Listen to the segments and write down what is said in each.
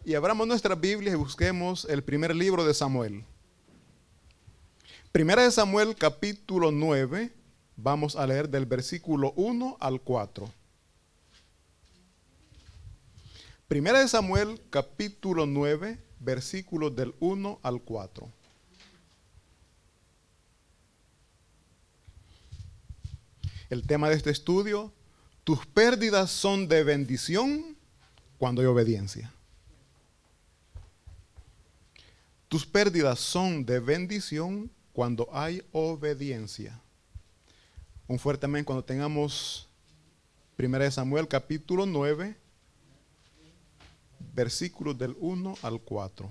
Y abramos nuestras Biblias y busquemos el primer libro de Samuel. Primera de Samuel, capítulo 9. Vamos a leer del versículo 1 al 4. Primera de Samuel, capítulo 9, versículos del 1 al 4. El tema de este estudio: tus pérdidas son de bendición cuando hay obediencia. Tus pérdidas son de bendición cuando hay obediencia. Un fuerte amén cuando tengamos Primera de Samuel, capítulo 9, versículos del 1 al 4.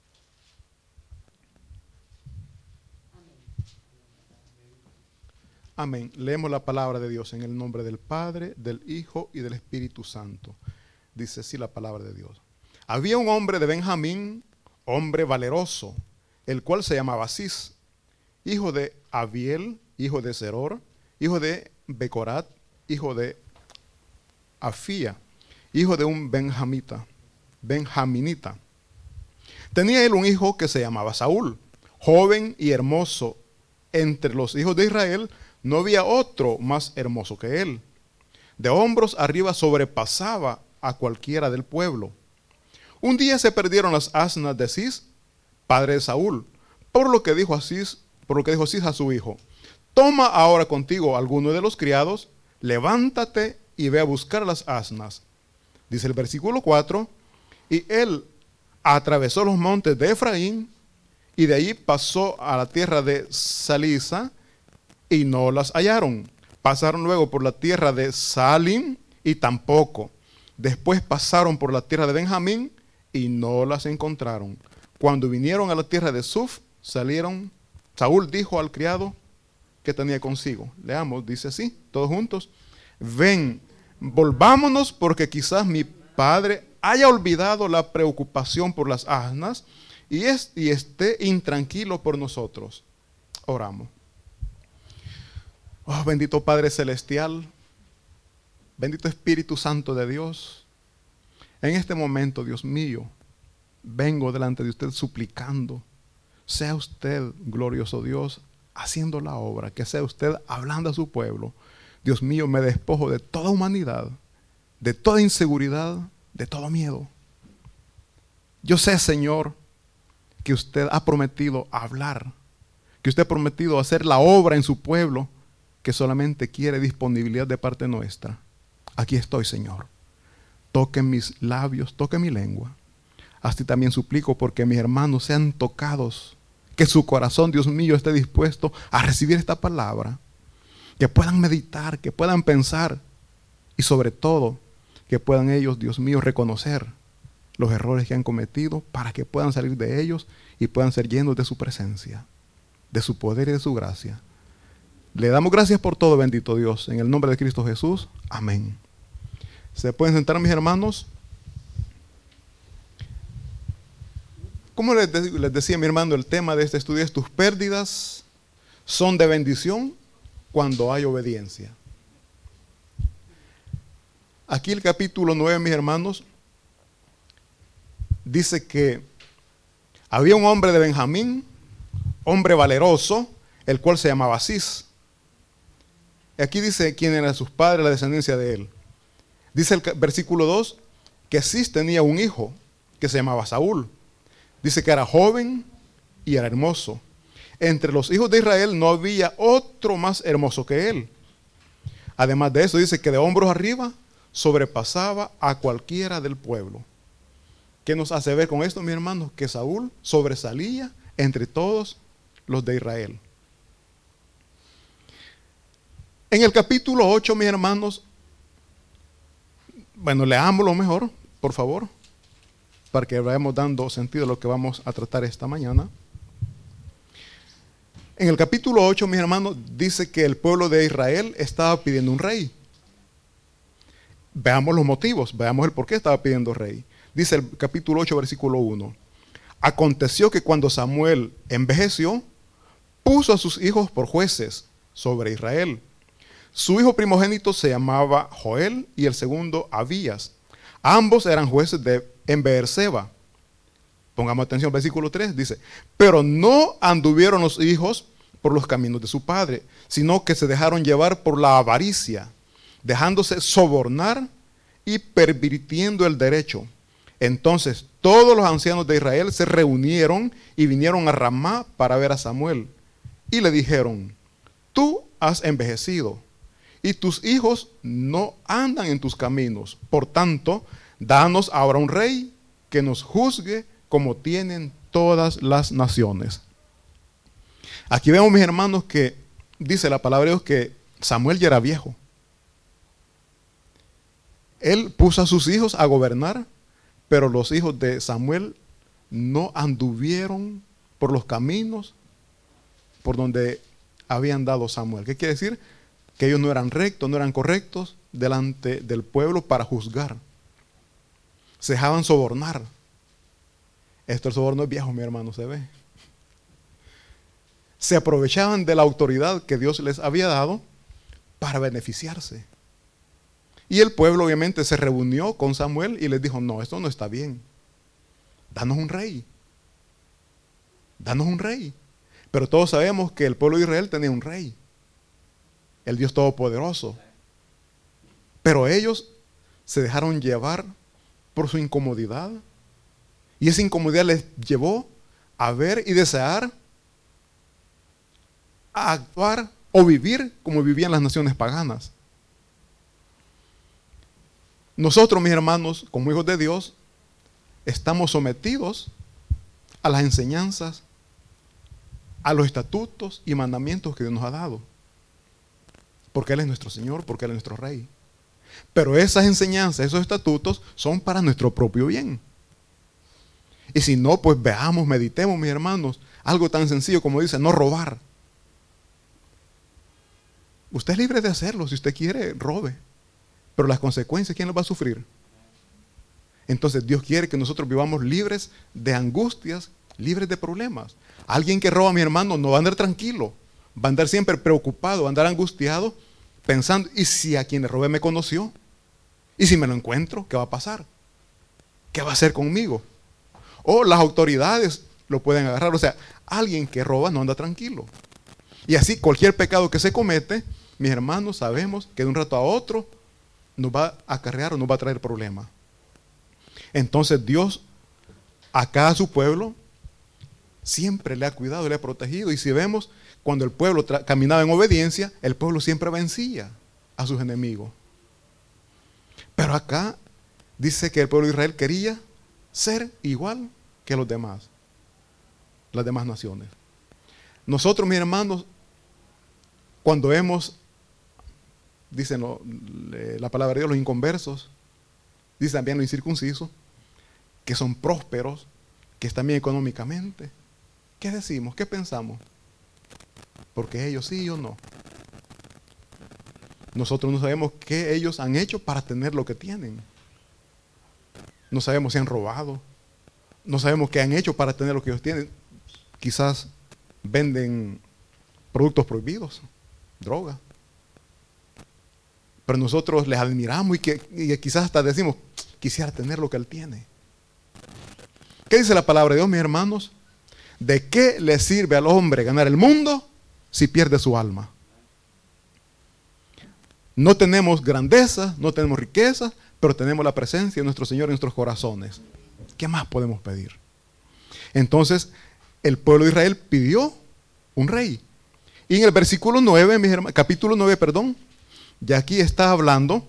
Amén. Leemos la palabra de Dios en el nombre del Padre, del Hijo y del Espíritu Santo. Dice así la palabra de Dios. Había un hombre de Benjamín, hombre valeroso, el cual se llamaba Cis, hijo de Abiel, hijo de Zeror, hijo de Becorat, hijo de Afía, hijo de un benjaminita. Tenía él un hijo que se llamaba Saúl, joven y hermoso. Entre los hijos de Israel no había otro más hermoso que él. De hombros arriba sobrepasaba a cualquiera del pueblo. Un día se perdieron las asnas de Cis, padre de Saúl, por lo que dijo Cis a su hijo: toma ahora contigo alguno de los criados, levántate y ve a buscar las asnas. Dice el versículo 4, y él atravesó los montes de Efraín, y de allí pasó a la tierra de Salisa, y no las hallaron. Pasaron luego por la tierra de Saalim, y tampoco. Después pasaron por la tierra de Benjamín, y no las encontraron. Cuando vinieron a la tierra de Suf, salieron. Saúl dijo al criado que tenía consigo. Leamos, dice así, todos juntos: ven, volvámonos, porque quizás mi padre haya olvidado la preocupación por las asnas y esté intranquilo por nosotros. Oramos. Oh, bendito Padre Celestial, bendito Espíritu Santo de Dios, en este momento, Dios mío, vengo delante de usted suplicando, sea usted, glorioso Dios, haciendo la obra, que sea usted hablando a su pueblo. Dios mío, me despojo de toda humanidad, de toda inseguridad, de todo miedo. Yo sé, Señor, que usted ha prometido hablar, que usted ha prometido hacer la obra en su pueblo, que solamente quiere disponibilidad de parte nuestra. Aquí estoy, Señor. Toque mis labios, toque mi lengua. Así también suplico porque mis hermanos sean tocados, que su corazón, Dios mío, esté dispuesto a recibir esta palabra, que puedan meditar, que puedan pensar y sobre todo que puedan ellos, Dios mío, reconocer los errores que han cometido para que puedan salir de ellos y puedan ser llenos de su presencia, de su poder y de su gracia. Le damos gracias por todo, bendito Dios, en el nombre de Cristo Jesús. Amén. ¿Se pueden sentar, mis hermanos? Como les decía mi hermano, el tema de este estudio es: tus pérdidas son de bendición cuando hay obediencia. Aquí el capítulo 9, mis hermanos, dice que había un hombre de Benjamín, hombre valeroso, el cual se llamaba Cis. Aquí dice quién eran sus padres, la descendencia de él. Dice el versículo 2 que Cis tenía un hijo que se llamaba Saúl. Dice que era joven y era hermoso. Entre los hijos de Israel no había otro más hermoso que él. Además de eso, dice que de hombros arriba sobrepasaba a cualquiera del pueblo. ¿Qué nos hace ver con esto, mis hermanos? Que Saúl sobresalía entre todos los de Israel. En el capítulo 8, mis hermanos, bueno, leámoslo mejor, por favor, para que vayamos dando sentido a lo que vamos a tratar esta mañana. En el capítulo 8, mis hermanos, dice que el pueblo de Israel estaba pidiendo un rey. Veamos los motivos, veamos el por qué estaba pidiendo rey. Dice el capítulo 8, versículo 1. Aconteció que cuando Samuel envejeció, puso a sus hijos por jueces sobre Israel. Su hijo primogénito se llamaba Joel y el segundo Abías. Ambos eran jueces en Beerseba. Pongamos atención, versículo 3 dice, pero no anduvieron los hijos por los caminos de su padre, sino que se dejaron llevar por la avaricia, dejándose sobornar y pervirtiendo el derecho. Entonces todos los ancianos de Israel se reunieron y vinieron a Ramá para ver a Samuel. Y le dijeron, tú has envejecido y tus hijos no andan en tus caminos. Por tanto, danos ahora un rey que nos juzgue como tienen todas las naciones. Aquí vemos, mis hermanos, que dice la palabra de Dios que Samuel ya era viejo. Él puso a sus hijos a gobernar, pero los hijos de Samuel no anduvieron por los caminos por donde habían dado Samuel. ¿Qué quiere decir? Que ellos no eran rectos, no eran correctos delante del pueblo para juzgar. Se dejaban sobornar. Esto el soborno es viejo, mi hermano, se ve. Se aprovechaban de la autoridad que Dios les había dado para beneficiarse. Y el pueblo obviamente se reunió con Samuel y les dijo, no, esto no está bien. Danos un rey. Danos un rey. Pero todos sabemos que el pueblo de Israel tenía un rey, el Dios Todopoderoso. Pero ellos se dejaron llevar por su incomodidad. Y esa incomodidad les llevó a ver y desear a actuar o vivir como vivían las naciones paganas. Nosotros, mis hermanos, como hijos de Dios, estamos sometidos a las enseñanzas, a los estatutos y mandamientos que Dios nos ha dado. Porque Él es nuestro Señor, porque Él es nuestro Rey. Pero esas enseñanzas, esos estatutos son para nuestro propio bien. Y si no, pues veamos, meditemos, mis hermanos, algo tan sencillo como dice, no robar. Usted es libre de hacerlo, si usted quiere, robe. Pero las consecuencias, ¿quién las va a sufrir? Entonces Dios quiere que nosotros vivamos libres de angustias, libres de problemas. Alguien que roba, mi hermano, no va a andar tranquilo, va a andar siempre preocupado, va a andar angustiado, pensando, ¿y si a quien le robé me conoció? ¿Y si me lo encuentro? ¿Qué va a pasar? ¿Qué va a hacer conmigo? O las autoridades lo pueden agarrar. O sea, alguien que roba no anda tranquilo. Y así cualquier pecado que se comete, mis hermanos, sabemos que de un rato a otro nos va a acarrear o nos va a traer problemas. Entonces Dios, acá a su pueblo, siempre le ha cuidado, le ha protegido. Y si vemos, cuando el pueblo caminaba en obediencia, el pueblo siempre vencía a sus enemigos. Pero acá dice que el pueblo de Israel quería ser igual que los demás, las demás naciones. Nosotros, mis hermanos, cuando vemos, dicen la palabra de Dios, los inconversos, dice también los incircuncisos, que son prósperos, que están bien económicamente. ¿Qué decimos? ¿Qué pensamos? Porque ellos sí y yo no. Nosotros no sabemos qué ellos han hecho para tener lo que tienen. No sabemos si han robado. No sabemos qué han hecho para tener lo que ellos tienen. Quizás venden productos prohibidos, droga. Pero nosotros les admiramos y quizás hasta decimos, quisiera tener lo que él tiene. ¿Qué dice la palabra de Dios, mis hermanos? ¿De qué le sirve al hombre ganar el mundo si pierde su alma? No tenemos grandeza, no tenemos riqueza, pero tenemos la presencia de nuestro Señor en nuestros corazones. ¿Qué más podemos pedir? Entonces, el pueblo de Israel pidió un rey. Y en el versículo 9, mis hermanos, capítulo 9, perdón, ya aquí está hablando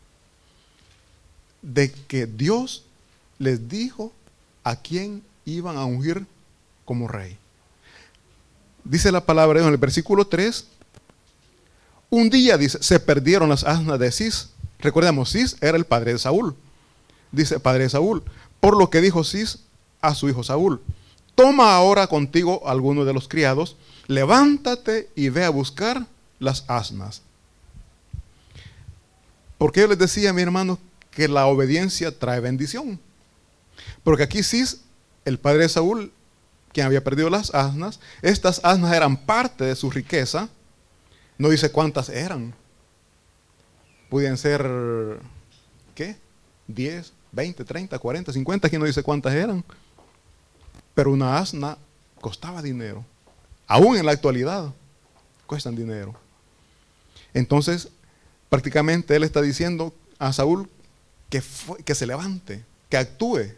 de que Dios les dijo a quién iban a ungir como rey. Dice la palabra de Dios en el versículo 3, un día, dice, se perdieron las asnas de Cis. Recordemos, Cis era el padre de Saúl. Dice, padre de Saúl. Por lo que dijo Cis a su hijo Saúl, toma ahora contigo a alguno de los criados, levántate y ve a buscar las asnas. Porque yo les decía, mi hermano, que la obediencia trae bendición. Porque aquí Cis, el padre de Saúl, quien había perdido las asnas, estas asnas eran parte de su riqueza. No dice cuántas eran. Podían ser, ¿qué? 10, 20, 30, 40, 50, aquí no dice cuántas eran. Pero una asna costaba dinero. Aún en la actualidad, cuestan dinero. Entonces, prácticamente él está diciendo a Saúl que se levante, que actúe.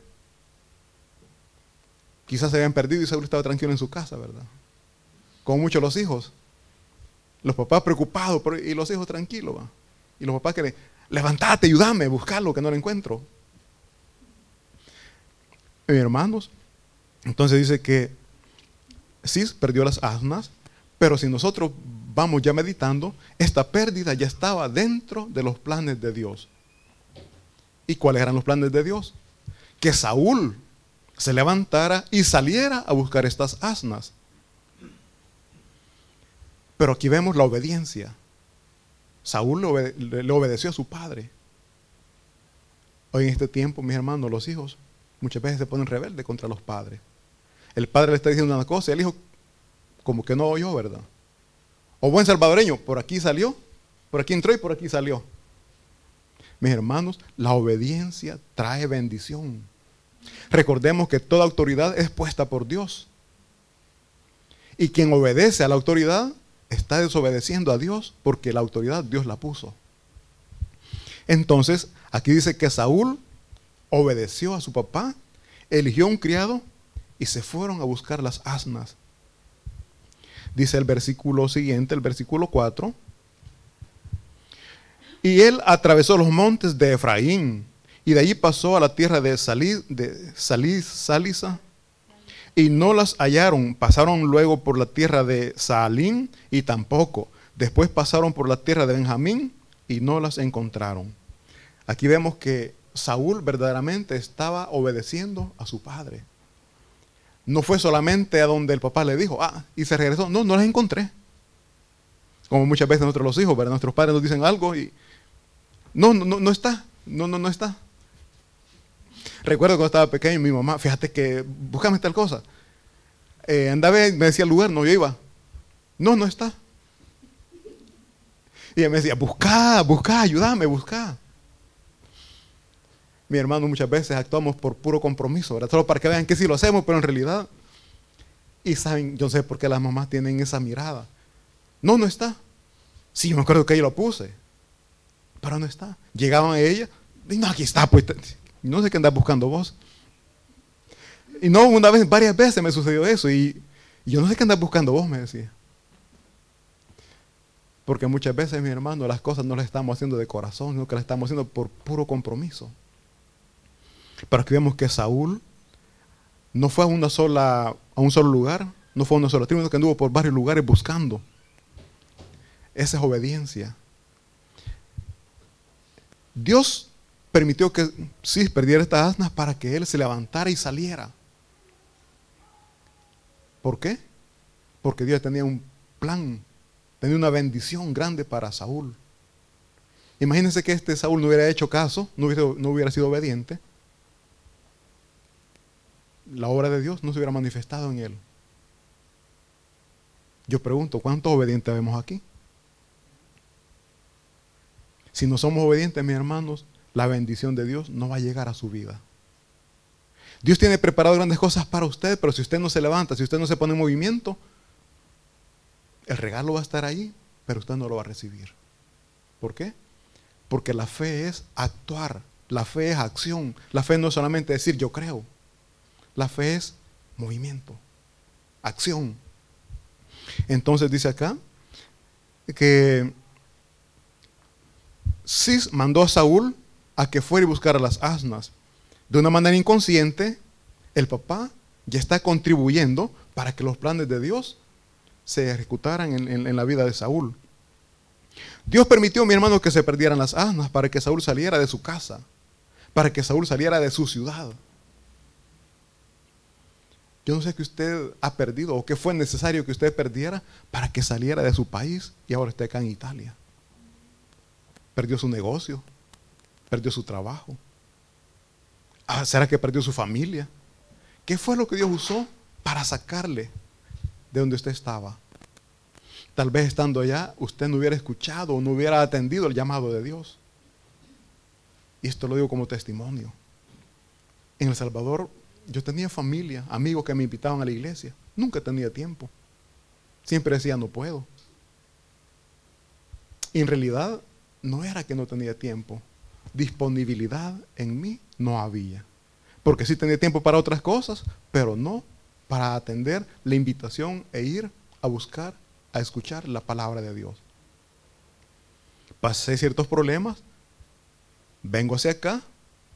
Quizás se habían perdido y Saúl estaba tranquilo en su casa, ¿verdad? Como muchos los hijos. Los papás preocupados y los hijos tranquilos. ¿va? Y los papás que levantate, ayúdame, buscarlo, que no lo encuentro. Mis hermanos, entonces dice que Cis perdió las asnas, pero si nosotros vamos ya meditando, esta pérdida ya estaba dentro de los planes de Dios. ¿Y cuáles eran los planes de Dios? Que Saúl se levantara y saliera a buscar estas asnas. Pero aquí vemos la obediencia. Saúl le obedeció a su padre. Hoy en este tiempo, mis hermanos, los hijos muchas veces se ponen rebeldes contra los padres. El padre le está diciendo una cosa y el hijo como que no oyó, ¿verdad? O buen salvadoreño, por aquí salió, por aquí entró y por aquí salió. Mis hermanos, la obediencia trae bendición. Recordemos que toda autoridad es puesta por Dios. Y quien obedece a la autoridad está desobedeciendo a Dios porque la autoridad Dios la puso. Entonces, aquí dice que Saúl obedeció a su papá, eligió un criado y se fueron a buscar las asnas. Dice el versículo siguiente, el versículo 4. Y él atravesó los montes de Efraín y de allí pasó a la tierra de Salisa y no las hallaron. Pasaron luego por la tierra de Saalín y tampoco. Después pasaron por la tierra de Benjamín y no las encontraron. Aquí vemos que Saúl verdaderamente estaba obedeciendo a su padre. No fue solamente a donde el papá le dijo, y se regresó. No, no las encontré. Como muchas veces nosotros los hijos, ¿verdad? Nuestros padres nos dicen algo y no está. No está. Recuerdo cuando estaba pequeño, mi mamá, fíjate que búscame tal cosa. Andaba, me decía el lugar, no, yo iba. No está. Y ella me decía, busca, ayúdame, busca. Mi hermano, muchas veces actuamos por puro compromiso, ¿verdad? Solo para que vean que sí lo hacemos, pero en realidad, y saben, yo no sé por qué las mamás tienen esa mirada. No está. Sí, yo me acuerdo que yo lo puse, pero no está. Llegaban a ella, y no, aquí está, pues, no sé qué andas buscando vos. Y no, una vez, varias veces me sucedió eso, y yo no sé qué andas buscando vos, me decía. Porque muchas veces, mi hermano, las cosas no las estamos haciendo de corazón, sino que las estamos haciendo por puro compromiso. Pero aquí vemos que Saúl no fue a un solo lugar, no fue a una sola tribu, sino que anduvo por varios lugares buscando. Esa es obediencia. Dios permitió que Cis perdiera estas asnas para que él se levantara y saliera. ¿Por qué? Porque Dios tenía un plan, tenía una bendición grande para Saúl. Imagínense que Saúl no hubiera hecho caso, no hubiera sido obediente. La obra de Dios no se hubiera manifestado en él. Yo pregunto, ¿cuántos obedientes vemos aquí? Si no somos obedientes, mis hermanos, la bendición de Dios no va a llegar a su vida. Dios tiene preparado grandes cosas para usted, pero si usted no se levanta, si usted no se pone en movimiento, el regalo va a estar ahí, pero usted no lo va a recibir. ¿Por qué? Porque la fe es actuar, la fe es acción, la fe no es solamente decir yo creo. La fe es movimiento, acción. Entonces dice acá que Cis mandó a Saúl a que fuera y buscara las asnas. De una manera inconsciente, el papá ya está contribuyendo para que los planes de Dios se ejecutaran en la vida de Saúl. Dios permitió, mi hermano, que se perdieran las asnas para que Saúl saliera de su casa, para que Saúl saliera de su ciudad. Yo no sé qué usted ha perdido o qué fue necesario que usted perdiera para que saliera de su país y ahora esté acá en Italia. Perdió su negocio, perdió su trabajo. ¿Será que perdió su familia? ¿Qué fue lo que Dios usó para sacarle de donde usted estaba? Tal vez estando allá usted no hubiera escuchado o no hubiera atendido el llamado de Dios. Y esto lo digo como testimonio. En El Salvador Yo tenía familia, amigos que me invitaban a la iglesia. Nunca tenía tiempo. Siempre decía, no puedo. Y en realidad no era que no tenía tiempo. Disponibilidad en mí no había. Porque sí tenía tiempo para otras cosas, pero no para atender la invitación e ir a buscar, a escuchar la palabra de Dios. Pasé ciertos problemas, vengo hacia acá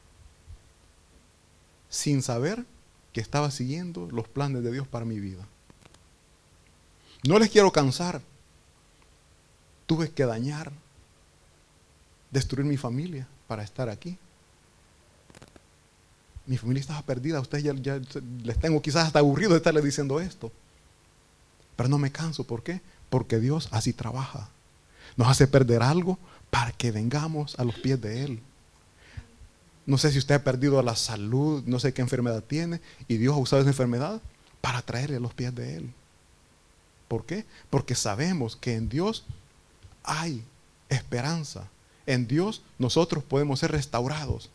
sin saber que estaba siguiendo los planes de Dios para mi vida. No les quiero cansar. Tuve que dañar, destruir mi familia para estar aquí. Mi familia estaba perdida. A ustedes ya les tengo quizás hasta aburrido de estarles diciendo esto. Pero no me canso. ¿Por qué? Porque Dios así trabaja. Nos hace perder algo para que vengamos a los pies de Él. No sé si usted ha perdido la salud, no sé qué enfermedad tiene, y Dios ha usado esa enfermedad para traerle a los pies de Él. ¿Por qué? Porque sabemos que en Dios hay esperanza. En Dios nosotros podemos ser restaurados.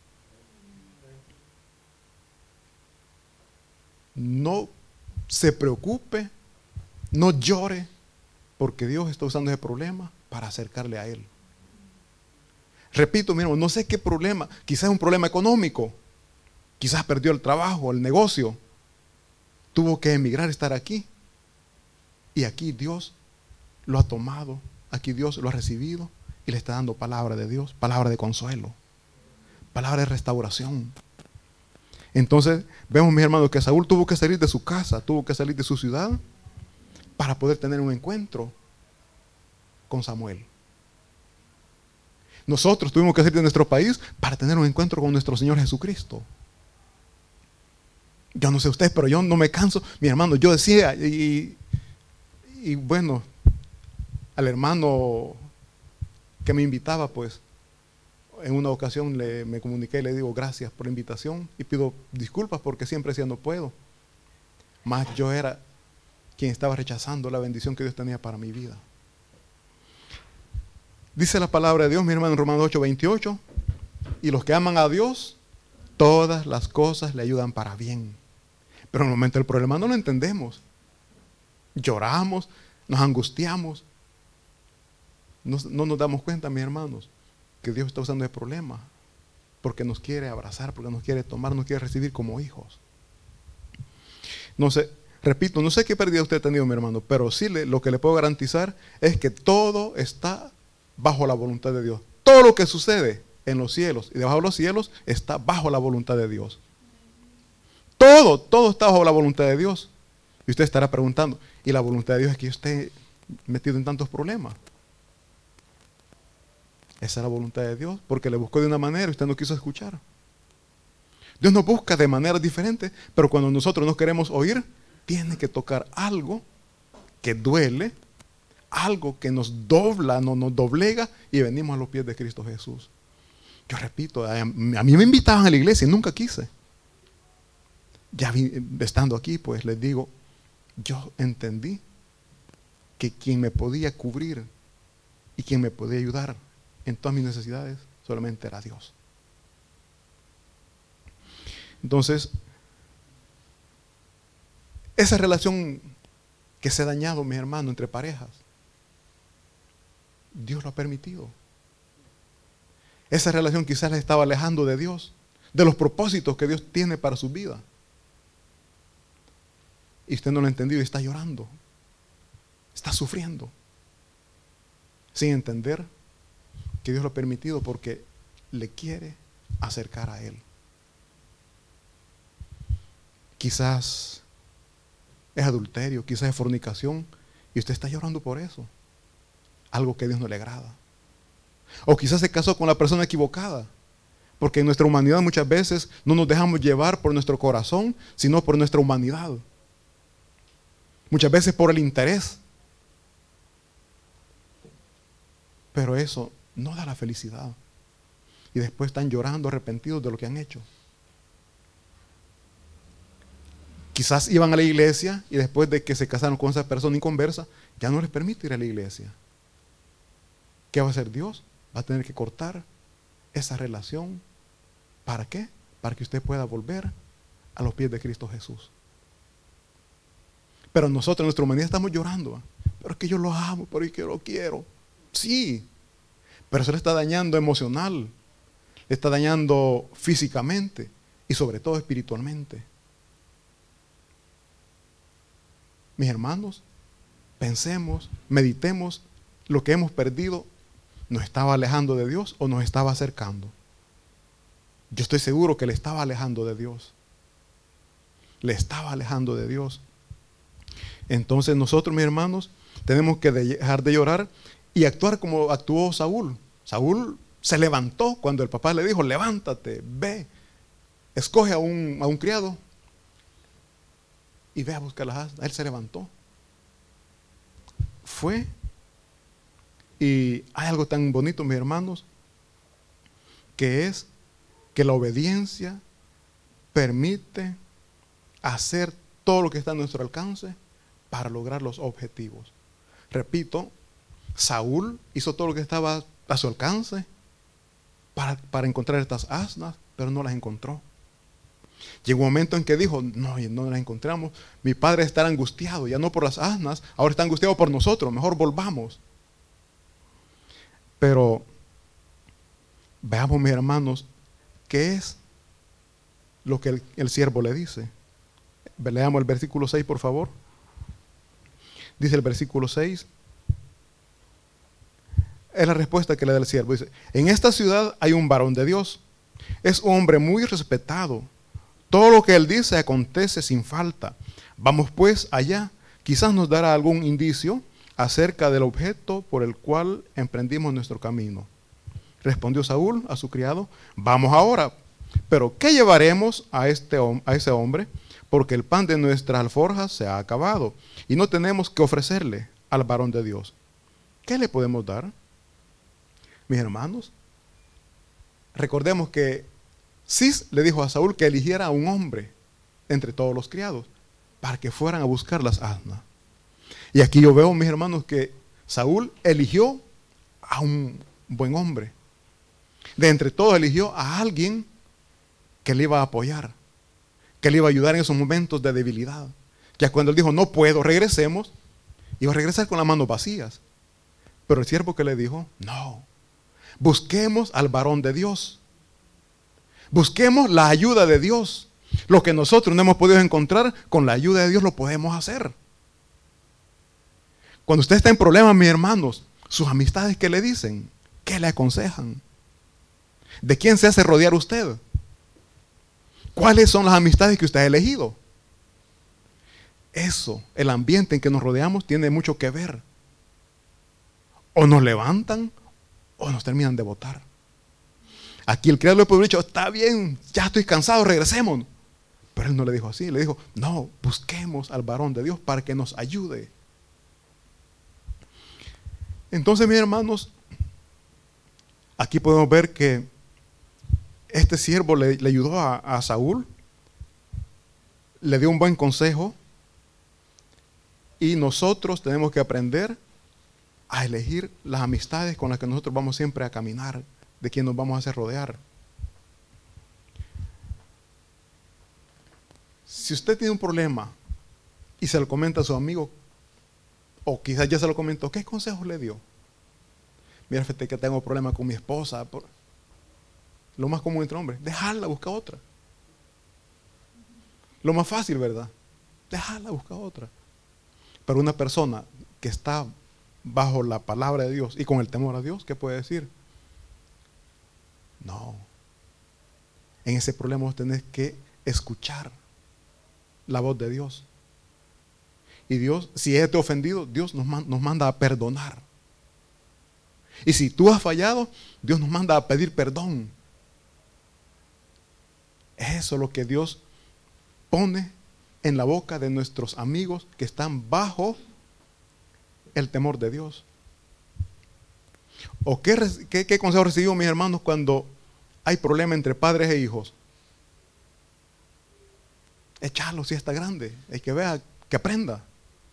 No se preocupe, no llore, porque Dios está usando ese problema para acercarle a Él. Repito, mi hermano, no sé qué problema, quizás es un problema económico, quizás perdió el trabajo, el negocio, tuvo que emigrar, estar aquí. Y aquí Dios lo ha tomado, aquí Dios lo ha recibido y le está dando palabra de Dios, palabra de consuelo, palabra de restauración. Entonces vemos, mis hermanos, que Saúl tuvo que salir de su casa, tuvo que salir de su ciudad para poder tener un encuentro con Samuel. Nosotros tuvimos que salir de nuestro país para tener un encuentro con nuestro Señor Jesucristo. Yo no sé ustedes, pero yo no me canso. Mi hermano, yo decía, y bueno, al hermano que me invitaba, pues, en una ocasión me comuniqué y le digo gracias por la invitación y pido disculpas porque siempre decía no puedo. Mas yo era quien estaba rechazando la bendición que Dios tenía para mi vida. Dice la palabra de Dios, mi hermano, en Romanos 8:28, y los que aman a Dios, todas las cosas le ayudan para bien. Pero en el momento del problema no lo entendemos. Lloramos, nos angustiamos. No nos damos cuenta, mis hermanos, que Dios está usando el problema porque nos quiere abrazar, porque nos quiere tomar, nos quiere recibir como hijos. No sé, repito, no sé qué pérdida usted ha tenido, mi hermano, pero sí lo que le puedo garantizar es que todo está bajo la voluntad de Dios. Todo lo que sucede en los cielos y debajo de los cielos está bajo la voluntad de Dios. Todo está bajo la voluntad de Dios. Y usted estará preguntando, ¿y la voluntad de Dios es que yo esté metido en tantos problemas? Esa es la voluntad de Dios, porque le buscó de una manera y usted no quiso escuchar. Dios nos busca de maneras diferentes, pero cuando nosotros no queremos oír, tiene que tocar algo que duele, algo que nos dobla, nos doblega, y venimos a los pies de Cristo Jesús. Yo repito, a mí me invitaban a la iglesia y nunca quise. Ya estando aquí, pues les digo, yo entendí que quien me podía cubrir y quien me podía ayudar en todas mis necesidades solamente era Dios. Entonces, esa relación que se ha dañado, mis hermanos, entre parejas, Dios lo ha permitido. Esa relación quizás les estaba alejando de Dios, de los propósitos que Dios tiene para su vida. Y usted no lo ha entendido y está llorando, está sufriendo, sin entender que Dios lo ha permitido porque le quiere acercar a Él. Quizás es adulterio, quizás es fornicación, y usted está llorando por eso, algo que a Dios no le agrada. O quizás se casó con la persona equivocada, porque en nuestra humanidad muchas veces no nos dejamos llevar por nuestro corazón, sino por nuestra humanidad. Muchas veces por el interés. Pero eso no da la felicidad. Y después están llorando, arrepentidos de lo que han hecho. Quizás iban a la iglesia y después de que se casaron con esa persona inconversa, ya no les permite ir a la iglesia. ¿Qué va a hacer Dios? Va a tener que cortar esa relación. ¿Para qué? Para que usted pueda volver a los pies de Cristo Jesús. Pero nosotros en nuestra humanidad estamos llorando. Pero es que yo lo amo, pero es que yo lo quiero. Sí, pero eso le está dañando emocional, le está dañando físicamente y sobre todo espiritualmente. Mis hermanos, pensemos, meditemos, lo que hemos perdido, ¿nos estaba alejando de Dios o nos estaba acercando? Yo estoy seguro que le estaba alejando de Dios. Le estaba alejando de Dios. Entonces nosotros, mis hermanos, tenemos que dejar de llorar y actuar como actuó Saúl. Saúl se levantó cuando el papá le dijo, levántate, ve, escoge a un criado y ve a buscar las asnas. Él se levantó. Fue. Y hay algo tan bonito, mis hermanos, que es que la obediencia permite hacer todo lo que está a nuestro alcance para lograr los objetivos. Repito, Saúl hizo todo lo que estaba a su alcance para encontrar estas asnas, pero no las encontró. Llegó un momento en que dijo, no las encontramos, mi padre está angustiado, ya no por las asnas, ahora está angustiado por nosotros, mejor volvamos. Pero veamos, mis hermanos, ¿qué es lo que el siervo le dice? Leamos el versículo 6, por favor. Dice el versículo 6. Es la respuesta que le da el siervo. Dice, en esta ciudad hay un varón de Dios. Es un hombre muy respetado. Todo lo que él dice acontece sin falta. Vamos pues allá. Quizás nos dará algún indicio acerca del objeto por el cual emprendimos nuestro camino. Respondió Saúl a su criado, vamos ahora. Pero ¿qué llevaremos a ese hombre? Porque el pan de nuestras alforjas se ha acabado y no tenemos que ofrecerle al varón de Dios. ¿Qué le podemos dar? Mis hermanos, recordemos que Cis le dijo a Saúl que eligiera a un hombre entre todos los criados para que fueran a buscar las asnas. Y aquí yo veo, mis hermanos, que Saúl eligió a un buen hombre. De entre todos eligió a alguien que le iba a apoyar, que le iba a ayudar en esos momentos de debilidad. Ya cuando él dijo, no puedo, regresemos, iba a regresar con las manos vacías. Pero el siervo que le dijo, no, busquemos al varón de Dios. Busquemos la ayuda de Dios. Lo que nosotros no hemos podido encontrar, con la ayuda de Dios lo podemos hacer. Cuando usted está en problemas, mis hermanos, sus amistades, ¿qué le dicen? ¿Qué le aconsejan? ¿De quién se hace rodear usted? ¿Cuáles son las amistades que usted ha elegido? Eso, el ambiente en que nos rodeamos, tiene mucho que ver. O nos levantan o nos terminan de botar. Aquí el criado le puede haber dicho, está bien, ya estoy cansado, regresemos. Pero él no le dijo así, le dijo, no, busquemos al varón de Dios para que nos ayude. Entonces, mis hermanos, aquí podemos ver que este siervo le ayudó a Saúl, le dio un buen consejo, y nosotros tenemos que aprender a elegir las amistades con las que nosotros vamos siempre a caminar, de quien nos vamos a hacer rodear. Si usted tiene un problema y se lo comenta a su amigo, o quizás ya se lo comentó, ¿qué consejo le dio? Mira, fíjate que tengo problemas con mi esposa. Lo más común entre hombres, dejarla, busca otra. Lo más fácil, ¿verdad? Dejarla, busca otra. Pero una persona que está bajo la palabra de Dios y con el temor a Dios, ¿qué puede decir? No. En ese problema vos tenés que escuchar la voz de Dios. Y Dios, si es ofendido, Dios nos manda a perdonar. Y si tú has fallado, Dios nos manda a pedir perdón. Eso es lo que Dios pone en la boca de nuestros amigos que están bajo el temor de Dios. ¿O qué consejo recibimos, mis hermanos, cuando hay problema entre padres e hijos? Echarlo si está grande, hay que vea, que aprenda.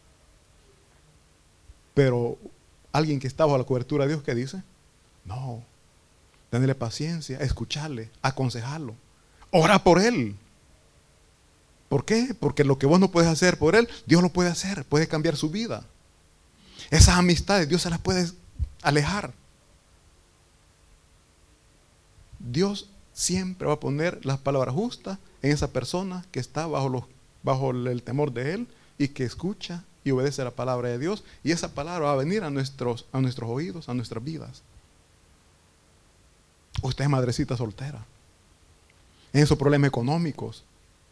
Pero alguien que está bajo la cobertura de Dios, ¿qué dice? No, tenerle paciencia, escucharle, aconsejarlo, ora por él. ¿Por qué? Porque lo que vos no puedes hacer por él, Dios lo puede hacer, puede cambiar su vida. Esas amistades, Dios se las puede alejar. Dios siempre va a poner las palabras justas en esa persona que está bajo el temor de Él y que escucha y obedece la palabra de Dios. Y esa palabra va a venir a nuestros oídos, a nuestras vidas. Usted es madrecita soltera, en esos problemas económicos.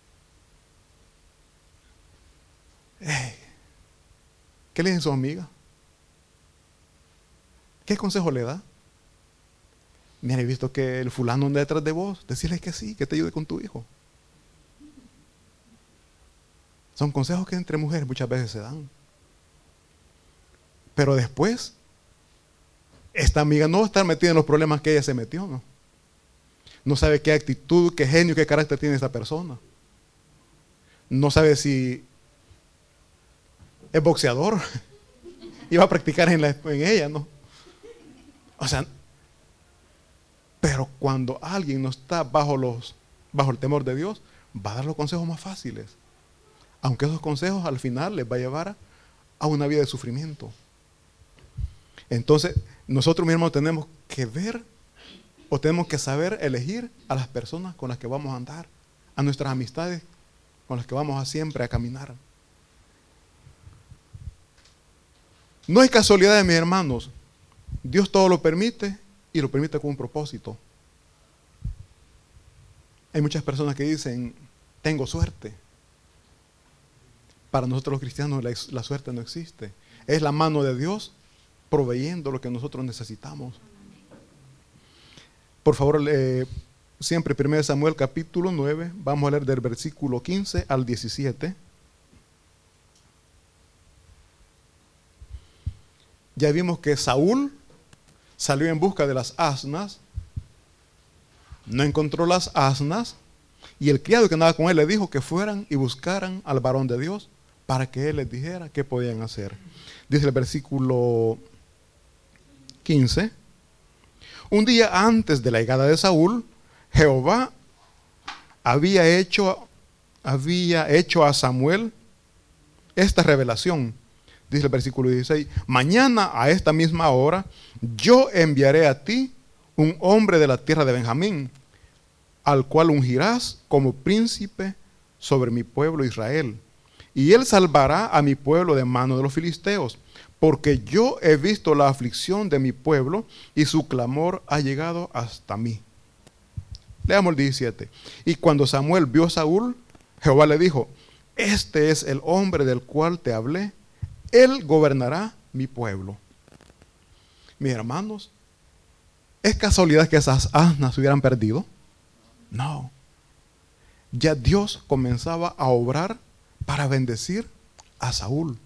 ¿Qué le dicen su amiga? ¿Qué consejo le da? Mira, he visto que el fulano anda detrás de vos. Decirle que sí, que te ayude con tu hijo. Son consejos que entre mujeres muchas veces se dan. Pero después, esta amiga no va a estar metida en los problemas que ella se metió, ¿no? No sabe qué actitud, qué genio, qué carácter tiene esa persona. No sabe si es boxeador y va a practicar en ella, ¿no? O sea, pero cuando alguien no está bajo el temor de Dios, va a dar los consejos más fáciles. Aunque esos consejos al final les va a llevar a una vida de sufrimiento. Entonces, nosotros mismos tenemos que ver o tenemos que saber elegir a las personas con las que vamos a andar, a nuestras amistades con las que vamos a siempre a caminar. No hay casualidades, mis hermanos. Dios todo lo permite y lo permite con un propósito. Hay muchas personas que dicen, tengo suerte. Para nosotros los cristianos la suerte no existe. Es la mano de Dios proveyendo lo que nosotros necesitamos. Por favor, siempre 1 Samuel capítulo 9, vamos a leer del versículo 15 al 17. Ya vimos que Saúl salió en busca de las asnas, no encontró las asnas, y el criado que andaba con él le dijo que fueran y buscaran al varón de Dios para que él les dijera qué podían hacer. Dice el versículo 15: un día antes de la llegada de Saúl, Jehová había hecho a Samuel esta revelación. Dice el versículo 16: mañana a esta misma hora yo enviaré a ti un hombre de la tierra de Benjamín, al cual ungirás como príncipe sobre mi pueblo Israel. Y él salvará a mi pueblo de mano de los filisteos, porque yo he visto la aflicción de mi pueblo y su clamor ha llegado hasta mí. Leamos el 17. Y cuando Samuel vio a Saúl, Jehová le dijo: este es el hombre del cual te hablé, él gobernará mi pueblo. Mis hermanos, ¿es casualidad que esas asnas se hubieran perdido? No. Ya Dios comenzaba a obrar para bendecir a Saúl.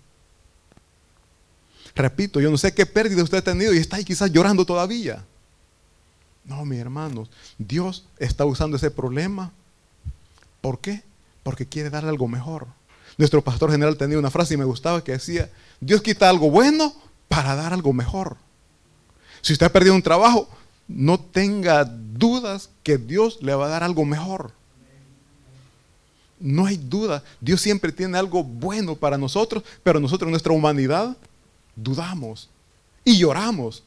Repito, yo no sé qué pérdida usted ha tenido y está ahí quizás llorando todavía. No, mis hermanos, Dios está usando ese problema. ¿Por qué? Porque quiere darle algo mejor. Nuestro pastor general tenía una frase y me gustaba que decía: Dios quita algo bueno para dar algo mejor. Si usted ha perdido un trabajo, no tenga dudas que Dios le va a dar algo mejor. No hay duda, Dios siempre tiene algo bueno para nosotros, pero nosotros en nuestra humanidad dudamos y lloramos.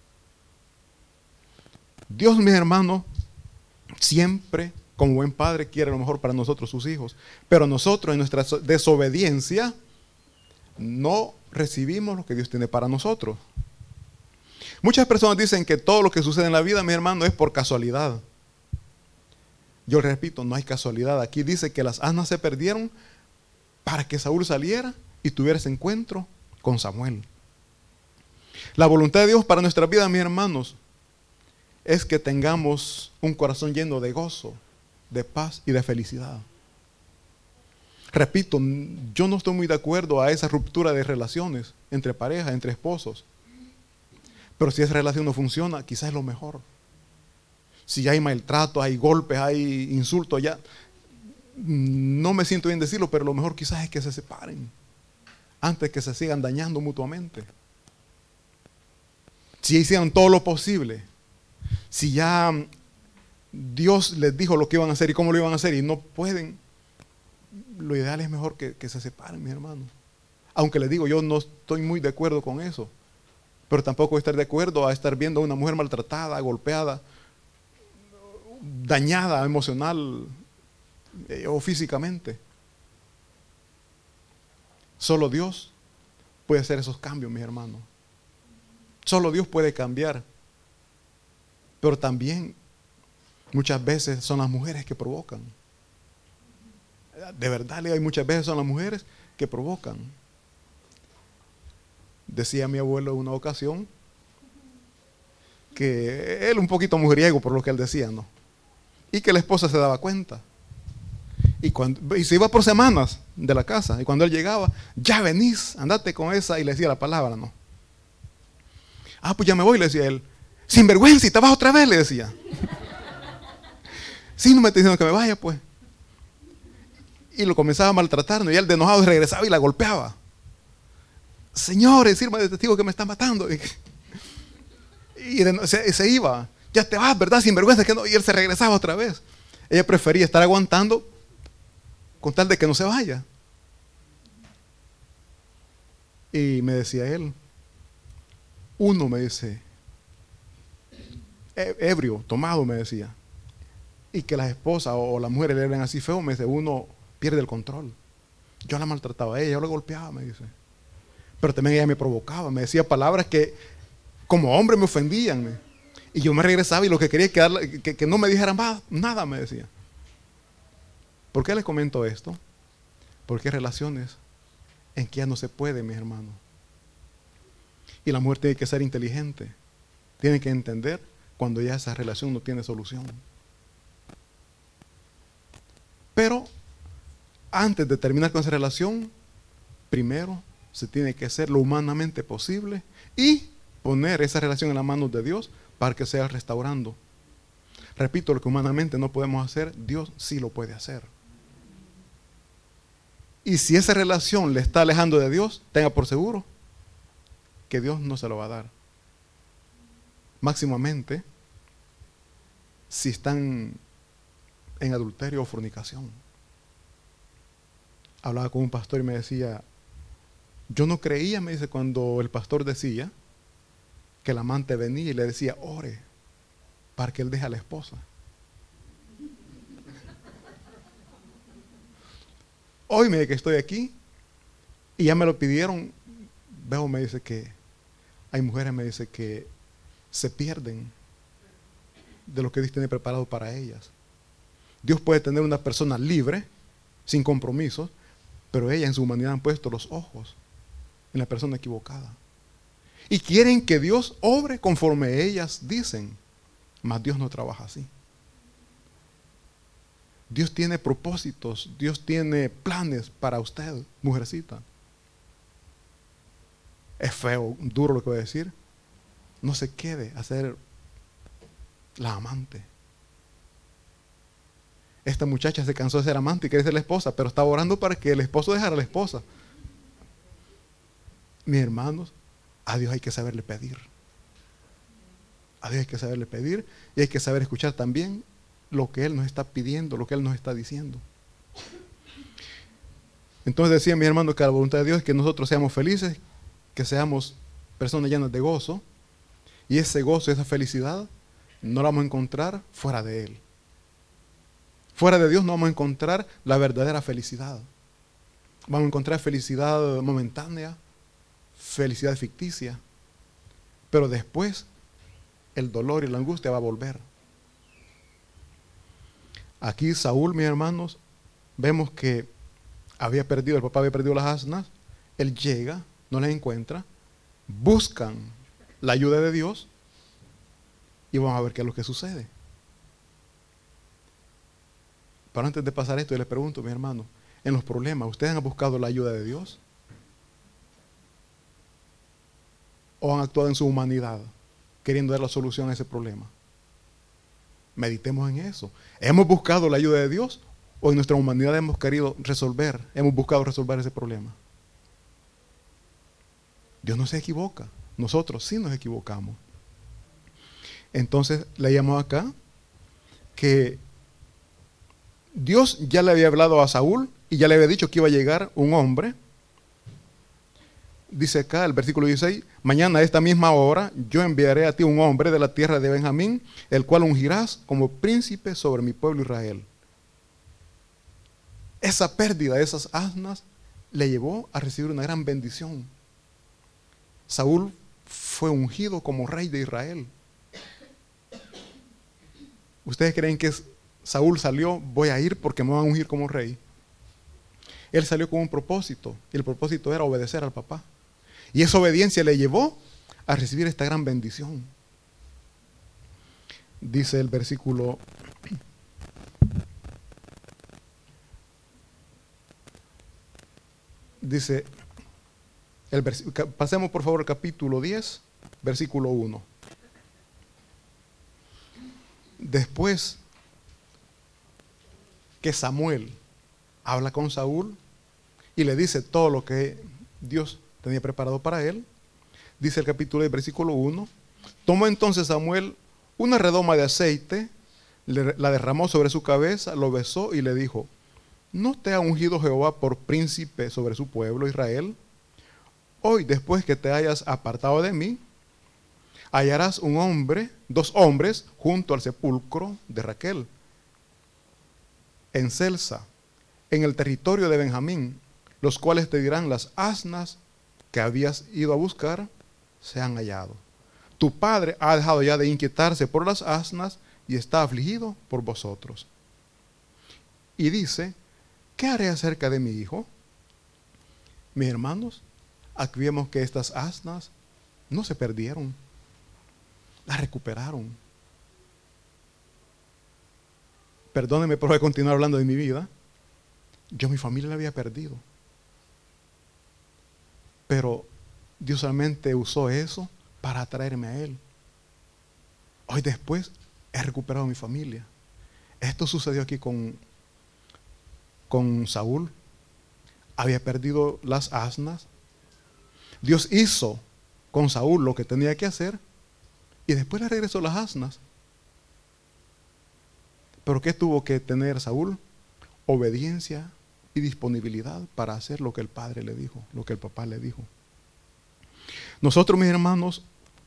Dios, mis hermanos, siempre, como buen padre, quiere lo mejor para nosotros, sus hijos. Pero nosotros, en nuestra desobediencia, no recibimos lo que Dios tiene para nosotros. Muchas personas dicen que todo lo que sucede en la vida, mis hermanos, es por casualidad. Yo repito, no hay casualidad. Aquí dice que las asnas se perdieron para que Saúl saliera y tuviera ese encuentro con Samuel. La voluntad de Dios para nuestra vida, mis hermanos, es que tengamos un corazón lleno de gozo, de paz y de felicidad. Repito, yo no estoy muy de acuerdo a esa ruptura de relaciones entre parejas, entre esposos. Pero si esa relación no funciona, quizás es lo mejor. Si hay maltrato, hay golpes, hay insultos, ya no me siento bien decirlo, pero lo mejor quizás es que se separen antes que se sigan dañando mutuamente. Si hicieron todo lo posible, si ya Dios les dijo lo que iban a hacer y cómo lo iban a hacer y no pueden, lo ideal es mejor que se separen, mis hermanos. Aunque les digo, yo no estoy muy de acuerdo con eso. Pero tampoco voy a estar de acuerdo a estar viendo a una mujer maltratada, golpeada, dañada emocional o físicamente. Solo Dios puede hacer esos cambios, mis hermanos. Solo Dios puede cambiar. Pero también muchas veces son las mujeres que provocan. De verdad, hay muchas veces son las mujeres que provocan. Decía mi abuelo en una ocasión que él un poquito mujeriego por lo que él decía, ¿no? Y que la esposa se daba cuenta. Y se iba por semanas de la casa. Y cuando él llegaba, ya venís, andate con esa. Y le decía la palabra, ¿no? Ah, pues ya me voy, le decía él. Sinvergüenza, y te vas otra vez, le decía. Sí, no me está diciendo que me vaya, pues. Y lo comenzaba a maltratar, ¿no? Y él de enojado regresaba y la golpeaba. Señores, sirva de testigo que me está matando. Y se iba. Ya te vas, ¿verdad? Sinvergüenza, que no. Y él se regresaba otra vez. Ella prefería estar aguantando con tal de que no se vaya. Y me decía él, uno me dice, ebrio, tomado, me decía, y que las esposas o las mujeres le eran así feo, me dice, uno pierde el control. Yo la maltrataba a ella, yo la golpeaba, me dice. Pero también ella me provocaba, me decía palabras que como hombre me ofendían. Y yo me regresaba y lo que quería es que no me dijera más nada, me decía. ¿Por qué les comento esto? Porque hay relaciones en que ya no se puede, mis hermanos. Y la mujer tiene que ser inteligente. Tiene que entender cuando ya esa relación no tiene solución. Pero antes de terminar con esa relación, primero se tiene que hacer lo humanamente posible y poner esa relación en las manos de Dios para que sea restaurando. Repito, lo que humanamente no podemos hacer, Dios sí lo puede hacer. Y si esa relación le está alejando de Dios, tenga por seguro que Dios no se lo va a dar. Máximamente, si están en adulterio o fornicación. Hablaba con un pastor y me decía, yo no creía, me dice, cuando el pastor decía que el amante venía y le decía, ore para que él deje a la esposa. Hoy me dice que estoy aquí y ya me lo pidieron. Veo, me dice que hay mujeres, me dice que se pierden de lo que Dios tiene preparado para ellas. Dios puede tener una persona libre, sin compromisos, pero ellas en su humanidad han puesto los ojos en la persona equivocada. Y quieren que Dios obre conforme ellas dicen, mas Dios no trabaja así. Dios tiene propósitos, Dios tiene planes para usted, mujercita. Es feo, duro lo que voy a decir. No se quede a ser la amante. Esta muchacha se cansó de ser amante y quiere ser la esposa, pero estaba orando para que el esposo dejara a la esposa. Mis hermanos, a Dios hay que saberle pedir. A Dios hay que saberle pedir y hay que saber escuchar también lo que Él nos está pidiendo, lo que Él nos está diciendo. Entonces decía mi hermano que la voluntad de Dios es que nosotros seamos felices, que seamos personas llenas de gozo, y ese gozo, esa felicidad, no la vamos a encontrar fuera de Él. Fuera de Dios no vamos a encontrar la verdadera felicidad. Vamos a encontrar felicidad momentánea, felicidad ficticia, pero después el dolor y la angustia va a volver. Aquí Saúl, mis hermanos, vemos que el papá había perdido las asnas. Él llega, no las encuentra, buscan la ayuda de Dios y vamos a ver qué es lo que sucede. Pero antes de pasar esto, yo les pregunto, mis hermanos, en los problemas, ¿ustedes han buscado la ayuda de Dios? ¿O han actuado en su humanidad, queriendo dar la solución a ese problema? Meditemos en eso. ¿Hemos buscado la ayuda de Dios o en nuestra humanidad hemos buscado resolver ese problema? Dios no se equivoca. Nosotros sí nos equivocamos. Entonces leíamos acá que Dios ya le había hablado a Saúl y ya le había dicho que iba a llegar un hombre. Dice acá el versículo 16, mañana a esta misma hora yo enviaré a ti un hombre de la tierra de Benjamín, el cual ungirás como príncipe sobre mi pueblo Israel. Esa pérdida de esas asnas le llevó a recibir una gran bendición. Saúl fue ungido como rey de Israel. ¿Ustedes creen que Saúl salió, voy a ir porque me van a ungir como rey? Él salió con un propósito, y el propósito era obedecer al papá. Y esa obediencia le llevó a recibir esta gran bendición. Dice el versículo 10, pasemos por favor al capítulo 10, versículo 1. Después que Samuel habla con Saúl y le dice todo lo que Dios tenía preparado para él, dice el capítulo 10, versículo 1, tomó entonces Samuel una redoma de aceite, la derramó sobre su cabeza, lo besó y le dijo, ¿no te ha ungido Jehová por príncipe sobre su pueblo Israel? Hoy, después que te hayas apartado de mí, hallarás dos hombres junto al sepulcro de Raquel, en Celsa, en el territorio de Benjamín, los cuales te dirán, las asnas que habías ido a buscar se han hallado. Tu padre ha dejado ya de inquietarse por las asnas y está afligido por vosotros. Y dice, ¿qué haré acerca de mi hijo? Mis hermanos, aquí vemos que estas asnas no se perdieron, las recuperaron. Perdónenme por continuar hablando de mi vida. Yo mi familia la había perdido. Pero Dios solamente usó eso para atraerme a Él. Hoy después he recuperado mi familia. Esto sucedió aquí con Saúl. Había perdido las asnas. Dios hizo con Saúl lo que tenía que hacer y después le regresó las asnas. ¿Pero qué tuvo que tener Saúl? Obediencia y disponibilidad para hacer lo que el padre le dijo, lo que el papá le dijo. Nosotros, mis hermanos,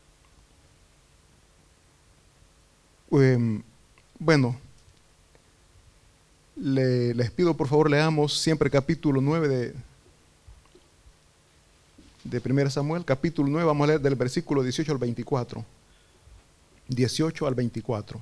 les pido por favor leamos siempre capítulo 9 de 1 Samuel, capítulo 9, vamos a leer del versículo 18 al 24. 18 al 24.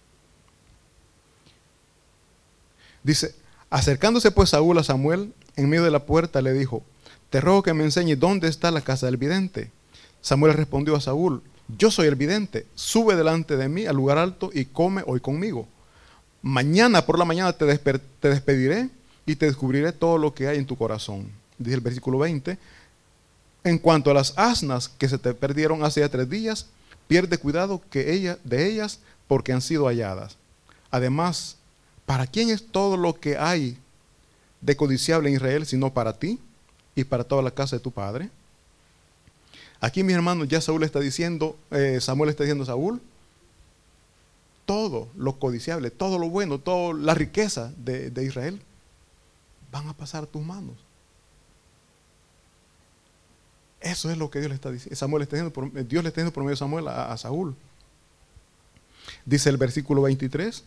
Dice, acercándose pues Saúl a Samuel, en medio de la puerta le dijo, te ruego que me enseñes dónde está la casa del vidente. Samuel respondió a Saúl, yo soy el vidente, sube delante de mí al lugar alto y come hoy conmigo. Mañana por la mañana te despediré y te descubriré todo lo que hay en tu corazón. Dice el versículo 20, en cuanto a las asnas que se te perdieron hace ya 3 días, pierde cuidado de ellas porque han sido halladas. Además, ¿para quién es todo lo que hay de codiciable en Israel sino para ti y para toda la casa de tu padre? Aquí, mis hermanos, ya Samuel está diciendo a Saúl, todo lo codiciable, todo lo bueno, toda la riqueza de Israel van a pasar a tus manos. Eso es lo que Dios le está diciendo. Dios le está diciendo por medio de Samuel a Saúl. Dice el versículo 22,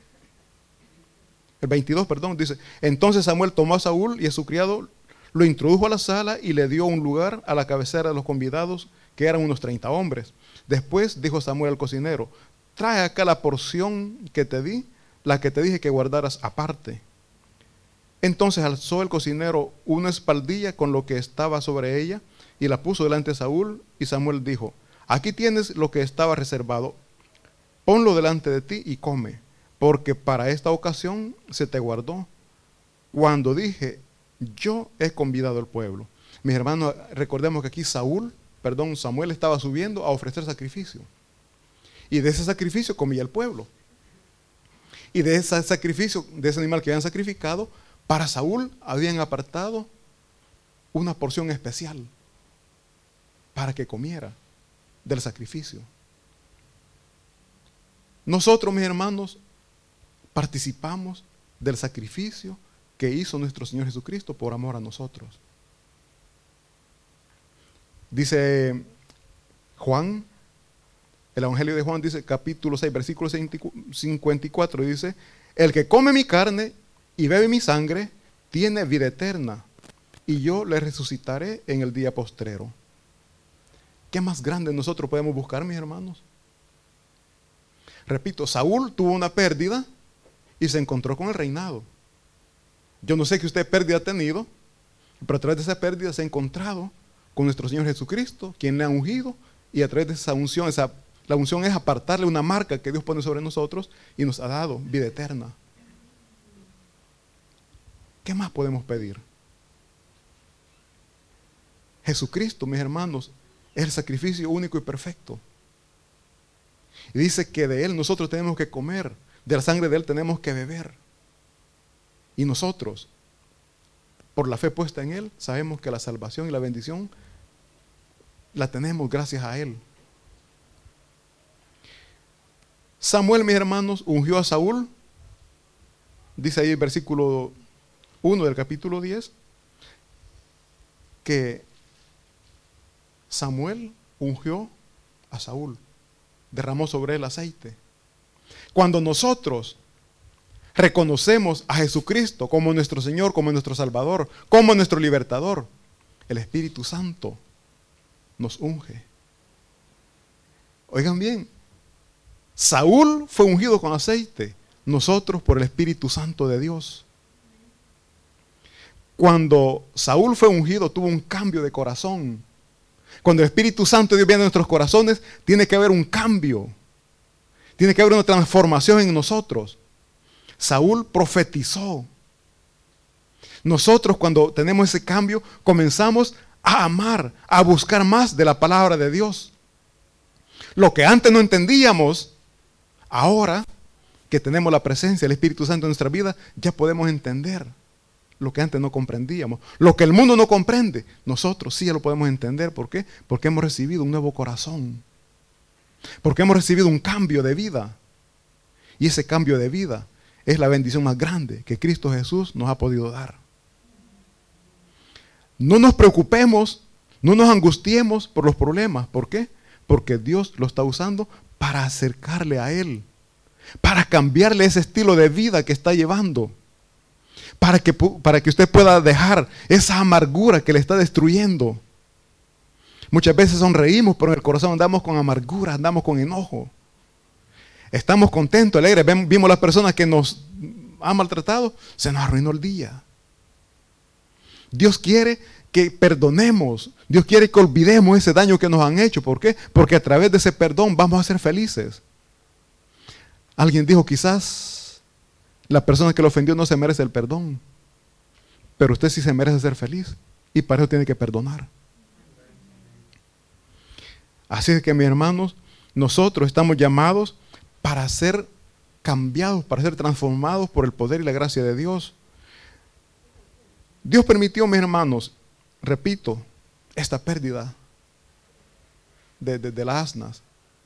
dice, entonces Samuel tomó a Saúl y a su criado, lo introdujo a la sala y le dio un lugar a la cabecera de los convidados, que eran unos 30 hombres. Después dijo Samuel al cocinero, trae acá la porción que te di, la que te dije que guardaras aparte. Entonces alzó el cocinero una espaldilla con lo que estaba sobre ella y la puso delante de Saúl, y Samuel dijo, aquí tienes lo que estaba reservado, ponlo delante de ti y come, porque para esta ocasión se te guardó. Cuando dije, yo he convidado al pueblo. Mis hermanos, recordemos que aquí Samuel estaba subiendo a ofrecer sacrificio. Y de ese sacrificio comía el pueblo. Y de ese sacrificio, de ese animal que habían sacrificado, para Saúl habían apartado una porción especial para que comiera del sacrificio. Nosotros, mis hermanos, participamos del sacrificio que hizo nuestro Señor Jesucristo por amor a nosotros. Dice Juan, el Evangelio de Juan dice, capítulo 6, versículo 54, dice: el que come mi carne y bebe mi sangre tiene vida eterna, y yo le resucitaré en el día postrero. ¿Qué más grande nosotros podemos buscar, mis hermanos? Repito, Saúl tuvo una pérdida y se encontró con el reinado. Yo no sé qué usted pérdida ha tenido, pero a través de esa pérdida se ha encontrado con nuestro Señor Jesucristo, quien le ha ungido, y a través de esa unción, la unción es apartarle una marca que Dios pone sobre nosotros y nos ha dado vida eterna. ¿Qué más podemos pedir? Jesucristo, mis hermanos, es el sacrificio único y perfecto. Y dice que de Él nosotros tenemos que comer, de la sangre de Él tenemos que beber. Y nosotros, por la fe puesta en Él, sabemos que la salvación y la bendición la tenemos gracias a Él. Samuel, mis hermanos, ungió a Saúl. Dice ahí el versículo 1 del capítulo 10, que Samuel ungió a Saúl, derramó sobre él aceite. Cuando nosotros reconocemos a Jesucristo como nuestro Señor, como nuestro Salvador, como nuestro libertador, el Espíritu Santo nos unge. Oigan bien, Saúl fue ungido con aceite, nosotros por el Espíritu Santo de Dios. Cuando Saúl fue ungido, tuvo un cambio de corazón. Cuando el Espíritu Santo de Dios viene a nuestros corazones, tiene que haber un cambio. Tiene que haber una transformación en nosotros. Saúl profetizó. Nosotros, cuando tenemos ese cambio, comenzamos a amar, a buscar más de la palabra de Dios. Lo que antes no entendíamos, ahora que tenemos la presencia del Espíritu Santo en nuestra vida, ya podemos entender lo que antes no comprendíamos. Lo que el mundo no comprende, nosotros sí ya lo podemos entender. ¿Por qué? Porque hemos recibido un nuevo corazón. Porque hemos recibido un cambio de vida. Y ese cambio de vida es la bendición más grande que Cristo Jesús nos ha podido dar. No nos preocupemos, no nos angustiemos por los problemas. ¿Por qué? Porque Dios lo está usando para acercarle a Él, para cambiarle ese estilo de vida que está llevando, para que usted pueda dejar esa amargura que le está destruyendo. Muchas veces sonreímos, pero en el corazón andamos con amargura, andamos con enojo. Estamos contentos, alegres, vimos las personas que nos han maltratado, se nos arruinó el día. Dios quiere que perdonemos, Dios quiere que olvidemos ese daño que nos han hecho. ¿Por qué? Porque a través de ese perdón vamos a ser felices. Alguien dijo, quizás la persona que lo ofendió no se merece el perdón, pero usted sí se merece ser feliz, y para eso tiene que perdonar. Así es que, mis hermanos, nosotros estamos llamados para ser cambiados, para ser transformados por el poder y la gracia de Dios. Dios permitió, mis hermanos, repito, esta pérdida de las asnas.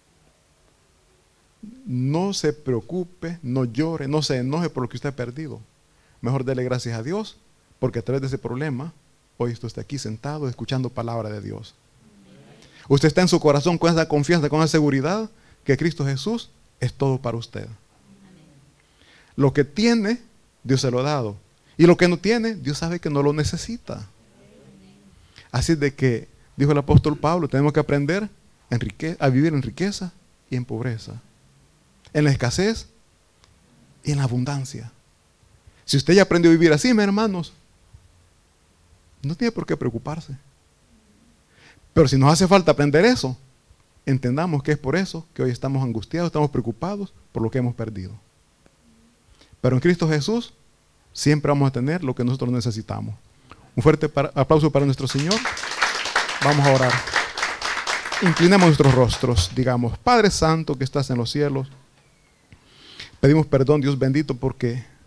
No se preocupe, no llore, no se enoje por lo que usted ha perdido. Mejor dele gracias a Dios, porque a través de ese problema, hoy usted está aquí sentado escuchando palabra de Dios. Usted está en su corazón con esa confianza, con esa seguridad que Cristo Jesús es todo para usted. Lo que tiene, Dios se lo ha dado. Y lo que no tiene, Dios sabe que no lo necesita. Así de que, dijo el apóstol Pablo, tenemos que aprender a vivir en riqueza y en pobreza, en la escasez y en la abundancia. Si usted ya aprendió a vivir así, mis hermanos, no tiene por qué preocuparse. Pero si nos hace falta aprender eso, entendamos que es por eso que hoy estamos angustiados, estamos preocupados por lo que hemos perdido. Pero en Cristo Jesús siempre vamos a tener lo que nosotros necesitamos. Un fuerte aplauso para nuestro Señor. Vamos a orar. Inclinemos nuestros rostros, digamos: Padre Santo que estás en los cielos, pedimos perdón, Dios bendito, porque